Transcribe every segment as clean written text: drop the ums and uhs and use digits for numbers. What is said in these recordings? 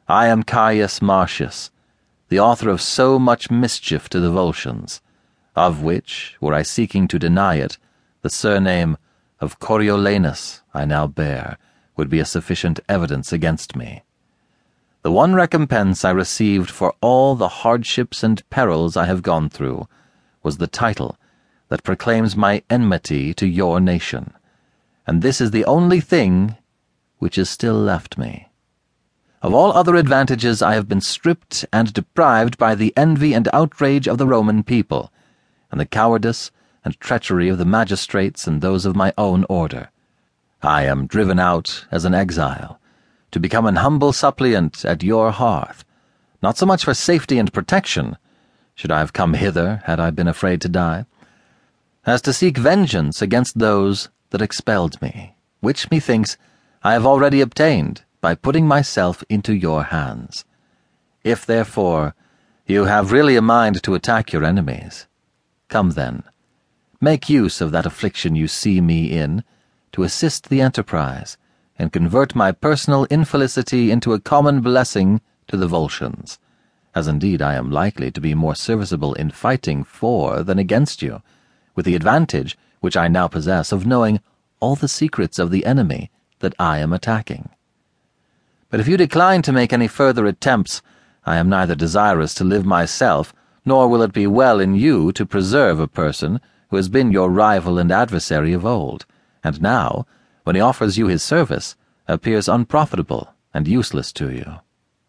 I am Caius Marcius, the author of so much mischief to the Volscians, of which, were I seeking to deny it, the surname of Coriolanus I now bear would be a sufficient evidence against me. The one recompense I received for all the hardships and perils I have gone through was the title that proclaims my enmity to your nation, and this is the only thing which is still left me. Of all other advantages I have been stripped and deprived by the envy and outrage of the Roman people, and the cowardice and treachery of the magistrates and those of my own order. I am driven out as an exile, to become an humble suppliant at your hearth, not so much for safety and protection, should I have come hither had I been afraid to die, as to seek vengeance against those that expelled me, which, methinks, I have already obtained by putting myself into your hands. If, therefore, you have really a mind to attack your enemies, come then, make use of that affliction you see me in, to assist the enterprise, and convert my personal infelicity into a common blessing to the Volscians, as indeed I am likely to be more serviceable in fighting for than against you, with the advantage which I now possess of knowing all the secrets of the enemy that I am attacking. But if you decline to make any further attempts, I am neither desirous to live myself, nor will it be well in you to preserve a person who has been your rival and adversary of old, and now, when he offers you his service, appears unprofitable and useless to you.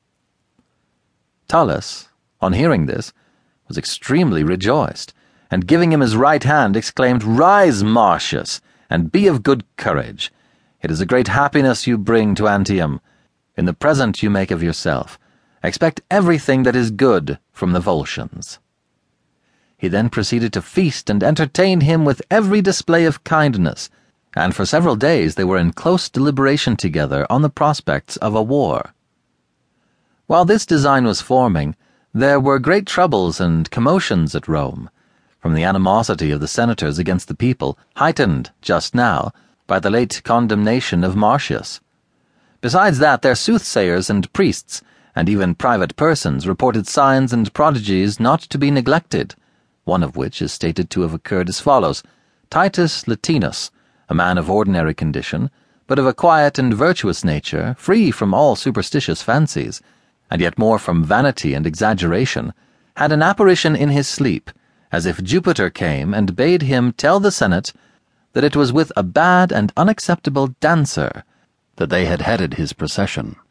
Tullus, on hearing this, was extremely rejoiced, and giving him his right hand, exclaimed, "Rise, Marcius, and be of good courage. It is a great happiness you bring to Antium. In the present you make of yourself, expect everything that is good from the Volscians." He then proceeded to feast and entertain him with every display of kindness, and for several days they were in close deliberation together on the prospects of a war. While this design was forming, there were great troubles and commotions at Rome, from the animosity of the senators against the people, heightened, just now, by the late condemnation of Marcius. Besides that, their soothsayers and priests, and even private persons, reported signs and prodigies not to be neglected, one of which is stated to have occurred as follows. Titus Latinus, a man of ordinary condition, but of a quiet and virtuous nature, free from all superstitious fancies, and yet more from vanity and exaggeration, had an apparition in his sleep, as if Jupiter came and bade him tell the Senate that it was with a bad and unacceptable dancer that they had headed his procession.